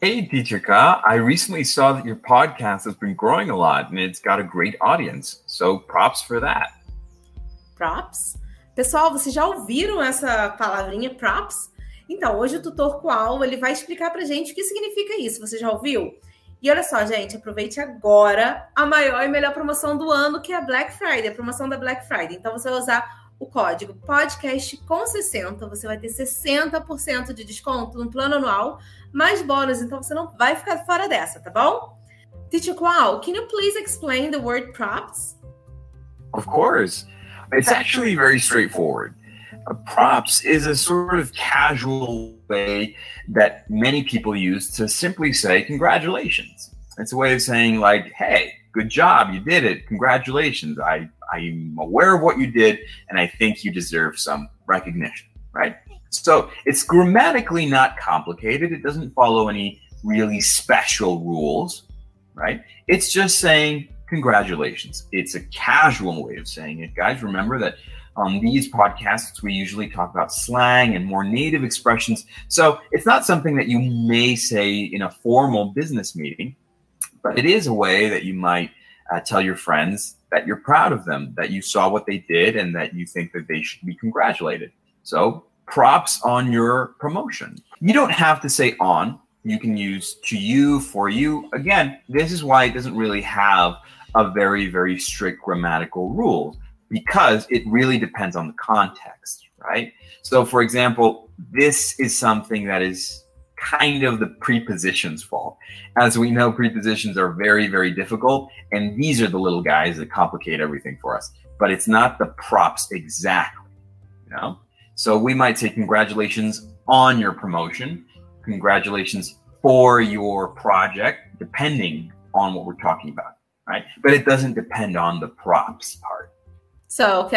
Hey, Teacher Ka, I recently saw that your podcast has been growing a lot and it's got a great audience. So props for that. Props? Pessoal, vocês já ouviram essa palavrinha props? Então, hoje o Tutor Qual, ele vai explicar pra gente o que significa isso. Você já ouviu? E olha só, gente, aproveite agora a maior e melhor promoção do ano, que é a Black Friday, a promoção da Black Friday. Então, você vai usar o código podcast com 60, você vai ter 60% de desconto no plano anual, mais bônus, então você não vai ficar fora dessa, tá bom? Teacher Qual, can you please explain the word props? Of course. It's actually very straightforward. Props is a sort of casual way that many people use to simply say congratulations. It's a way of saying like, hey, good job, you did it, congratulations. I'm aware of what you did and I think you deserve some recognition, right? So it's grammatically not complicated. It doesn't follow any really special rules, right? It's just saying congratulations. It's a casual way of saying it. Guys, remember that on these podcasts, we usually talk about slang and more native expressions. So it's not something that you may say in a formal business meeting, but it is a way that you might tell your friends that you're proud of them, that you saw what they did and that you think that they should be congratulated. So props on your promotion. You don't have to say on. You can use to you, for you. Again, this is why it doesn't really have a very, very strict grammatical rule, because it really depends on the context, right? So for example, this is something that is kind of the prepositions fault. As we know, prepositions are very, very difficult, and these are the little guys that complicate everything for us. But it's not the props exactly, you know? So we might say congratulations on your promotion, congratulations for your project, depending on what we're talking about, right? But it doesn't depend on the props part. So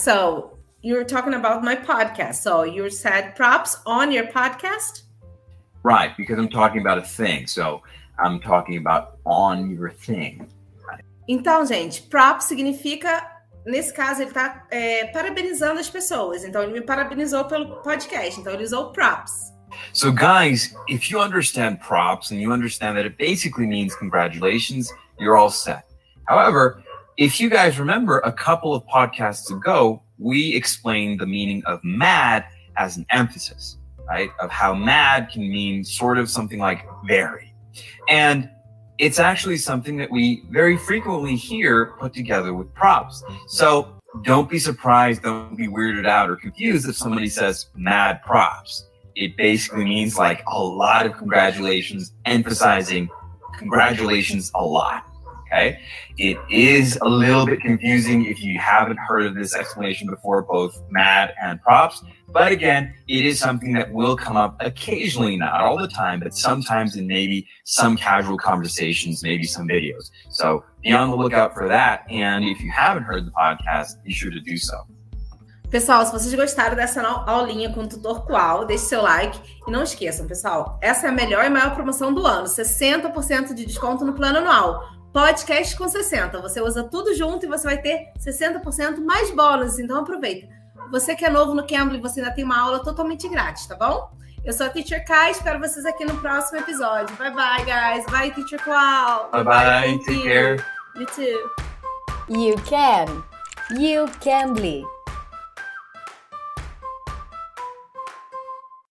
you're talking about my podcast. So you said props on your podcast? Right, because I'm talking about a thing. So I'm talking about on your thing. Right? Então, gente, props significa, nesse caso, ele está parabenizando as pessoas. Então, ele me parabenizou pelo podcast. Então, ele usou props. So guys, if you understand props and you understand that it basically means congratulations, you're all set. However, if you guys remember, a couple of podcasts ago, we explained the meaning of mad as an emphasis, right? Of how mad can mean sort of something like very. And it's actually something that we very frequently hear put together with props. So don't be surprised, don't be weirded out or confused if somebody says mad props. It basically means like a lot of congratulations, emphasizing congratulations a lot. Okay, it is a little bit confusing if you haven't heard of this explanation before, both mad and props. But again, it is something that will come up occasionally, not all the time, but sometimes in maybe some casual conversations, maybe some videos. So be on the lookout for that. And if you haven't heard the podcast, be sure to do so. Pessoal, se vocês gostaram dessa aulinha com o Tutor Qual, deixe seu like. E não esqueçam, pessoal, essa é a melhor e maior promoção do ano. 60% de desconto no plano anual. Podcast com 60. Você usa tudo junto e você vai ter 60% mais bônus. Então aproveita. Você que é novo no Cambly, você ainda tem uma aula totalmente grátis, tá bom? Eu sou a Teacher Kai, espero vocês aqui no próximo episódio. Bye bye, guys. Bye, Teacher Qual. Bye bye. Take care. You too. You can. You Cambly.